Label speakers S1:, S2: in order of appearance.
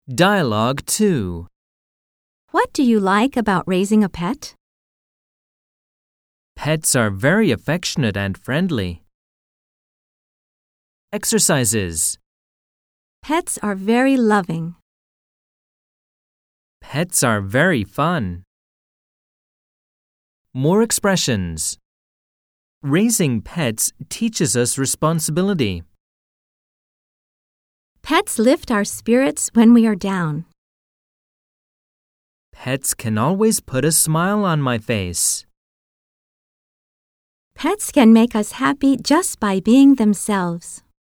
S1: Dialogue 2.
S2: What do you like about raising a pet?
S1: Pets are very affectionate and friendly. Exercises.
S2: Pets are very loving.
S1: Pets are very fun. More expressions. Raising pets teaches us responsibility.
S2: Pets lift our spirits when we are down.
S1: Pets can always put a smile on my face.
S2: Pets can make us happy just by being themselves.